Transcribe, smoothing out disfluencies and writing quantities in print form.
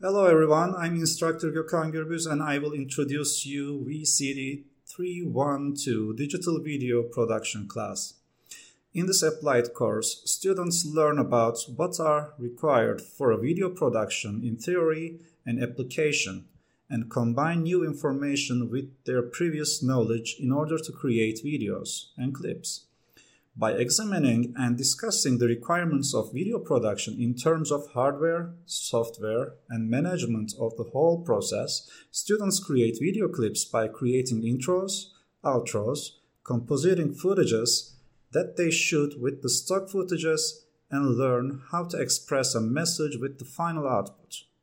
Hello everyone, I'm Instructor Gökhan Gürbüz and I will introduce you VCD 312 Digital Video Production class. In this applied course, students learn about what are required for a video production in theory and application and combine new information with their previous knowledge in order to create videos and clips. By examining and discussing the requirements of video production in terms of hardware, software, and management of the whole process, students create video clips by creating intros, outros, compositing footages that they shoot with the stock footages, and learn how to express a message with the final output.